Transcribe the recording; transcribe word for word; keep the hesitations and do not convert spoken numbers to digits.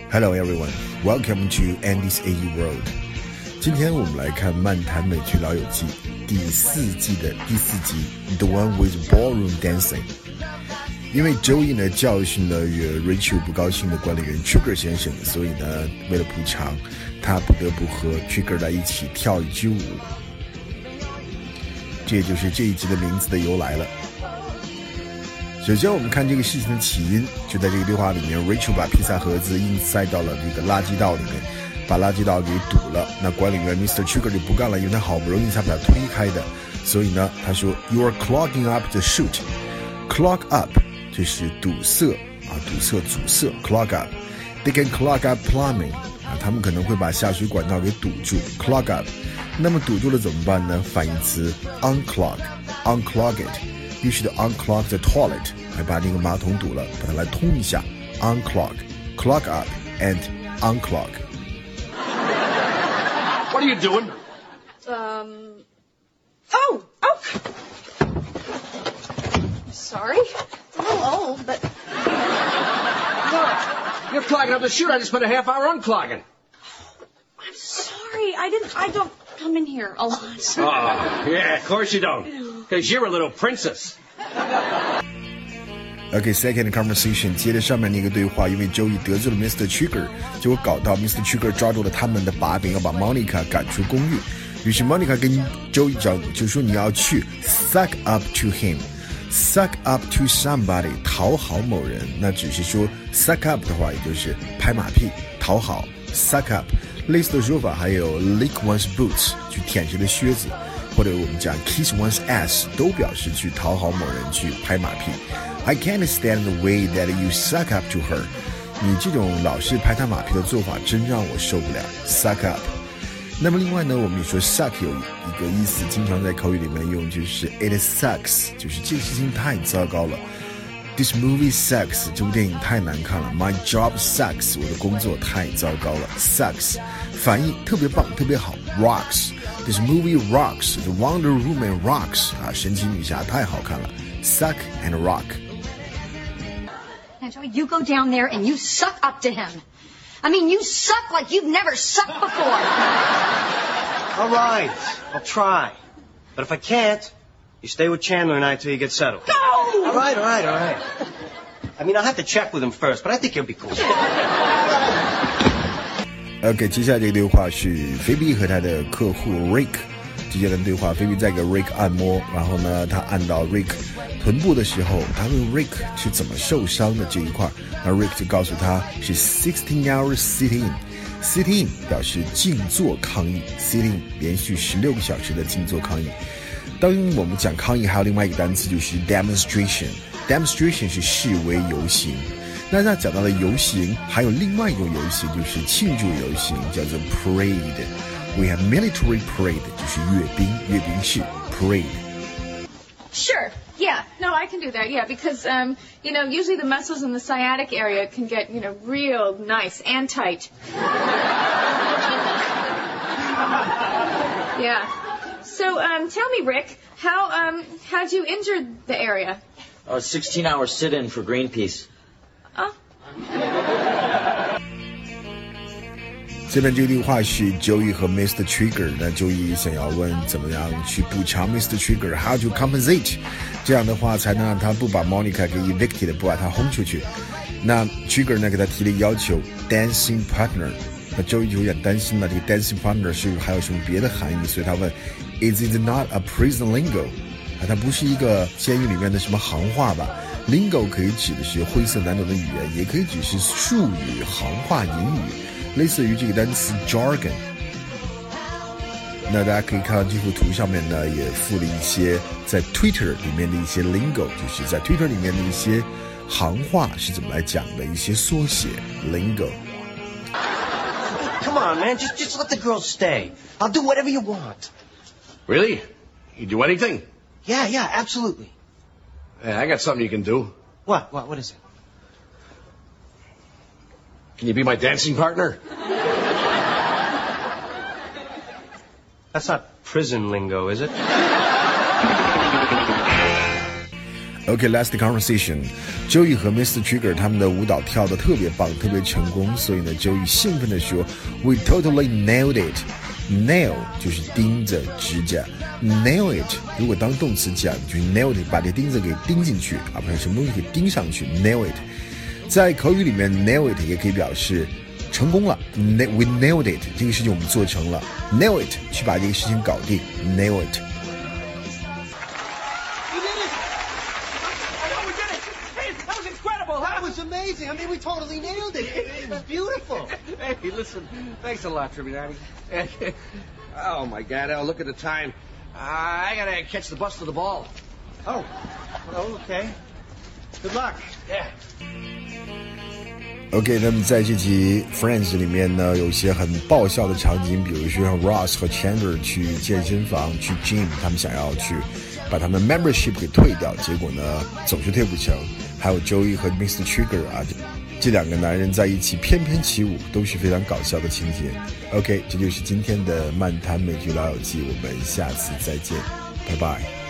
Hello everyone, welcome to Andy's A E World. 今天我们来看《漫谈美剧老友记》第四季的第四集 The One with Ballroom Dancing。因为 Joey 呢教训了与 Rachel 不高兴的管理员 Trigger 先生，所以呢为了补偿，他不得不和 Trigger 在一起跳一支舞。这也就是这一集的名字的由来了。首先我们看这个事情的起因，就在这个对话里面 Rachel 把披萨盒子硬塞到了这个垃圾道里面，把垃圾道给堵了。那管理员 mister Trigger 就不干了，因为他好不容易才把它推开的，所以呢他说 You are clogging up the chute. Clog up 这是堵塞啊，堵塞阻塞 Clog up. They can clog up plumbing 啊，他们可能会把下水管道给堵住 Clog up. 那么堵住了怎么办呢？反义词 unclog unclog it， 必须得 unclog the toilet， 来把那个马桶堵了，把它来通一下 unclog clog up and unclog。 What are you doing? Um oh oh sorry, it's a little old, but What? You're clogging up the chute. I just spent a half hour unclogging. I'm sorry. I didn't I don't come in here a lot. Oh, yeah, of course you don't. Because you're a little princess. Okay, second conversation 接着上面那个对话，因为 Joey 得罪了 mister Trigger， 结果搞到 mister Trigger 抓住了他们的把柄，要把 Monica 赶出公寓。于是 Monica 跟 Joey 讲，就说你要去 suck up to him， suck up to somebody， 讨好某人。那只是说 suck up 的话，也就是拍马屁、讨好 suck up。类似的说法还有 lick one's boots， 去舔谁的靴子，或者我们讲 kiss one's ass， 都表示去讨好某人，去拍马屁。I can't stand the way that you suck up to her， 你这种老是拍他马屁的做法真让我受不了 suck up。 那么另外呢，我们也说 suck 有一个意思经常在口语里面用，就是 it sucks， 就是这个事情太糟糕了。This movie sucks， 这部电影太难看了。 My job sucks， 我的工作太糟糕了 sucks。 反义特别棒，特别好 rocks。 This movie rocks， The Wonder Woman rocks， 啊，神奇女侠太好看了 suck and rock。 Now Joey, you go down there and you suck up to him. I mean, you suck like you've never sucked before. All right, I'll try. But if I can't, you stay with Chandler and I till you get settled. No! All right, all right, all right. I mean, I'll have to check with him first, but I think he'll be cool. OK， 接下来这个对话是菲比和他的客户 Rick 之间的对话。菲比在给 Rick 按摩，然后呢，他按到 Rick 臀部的时候，他问 Rick 是怎么受伤的这一块，那 Rick 就告诉他是 sixteen hours sit in。 sit in 表示静坐抗议 sit in 连续十六个小时的静坐抗议。当我们讲抗议，还有另外一个单词就是 demonstration。 demonstration 是示威游行。那他讲到了游行，还有另外一种游行，就是庆祝游行，叫做 parade。 We have military parade， 就是阅兵，阅兵式 parade。 sure. Yeah, no, I can do that. Yeah, because um, you know, usually the muscles in the sciatic area can get, you know, real nice and tight. Yeah. So, um, tell me, Rick, how um, how'd you injure the area? Oh, sixteen hour sit-in for Greenpeace. Oh. 这边这个对话是 Joey 和 mister Trigger， 那 Joey 想要问怎么样去补偿 mister Trigger， how to compensate， 这样的话才能让他不把 Monica 给 evicted， 不把他轰出去。那 Trigger 呢给他提了一个要求 dancing partner， 那 Joey 就有点担心了，这个 dancing partner 是还有什么别的含义，所以他问 Is it not a prison lingo， 啊，它不是一个监狱里面的什么行话吧。Lingo 可以指的是晦涩难懂的语言，也可以指是术语、行话、隐语，类似于这个单词 jargon。 那大家可以看到这幅图上面呢，也附了一些在 Twitter 里面的一些 lingo， 就是在 Twitter 里面的一些行话是怎么来讲的一些缩写 lingo。 Come on, man, just, just let the girls stay. I'll do whatever you want. Really? You do anything? Yeah, yeah, absolutely. Hey, I got something you can do. What? What? What is it? Can you be my dancing partner? That's not prison lingo, is it? OK, last conversation. Joey 和 Mister Trigger 他们的舞蹈跳得特别棒，特别成功，所以呢 Joey 兴奋地说 We totally nailed it. Nail 就是钉子指甲 Nail it 如果当动词讲就是 nail it 把这钉子给钉进去啊，不是什么东西给钉上去 Nail it 在口语里面 Nail it 也可以表示成功了 We nailed it 这个事情我们做成了 Nail it 去把这个事情搞定 Nail it That was amazing. I mean, we totally nailed it. It was beautiful. Hey, listen, thanks a lot, Tribunati. Oh, my God, Al, look at the time. Uh, I gotta catch the bus to the ball. Oh, oh, okay. Good luck. Yeah. OK, 那么在这集 Friends 里面呢，有一些很爆笑的场景，比如说像 Ross 和 Chandler 去健身房去 gym， 他们想要去把他们 membership 给退掉，结果呢总是退不成。还有 Joey 和 Mister Trigger 啊，这两个男人在一起翩翩起舞，都是非常搞笑的情节。OK, 这就是今天的漫谈美剧老友记，我们下次再见，拜拜。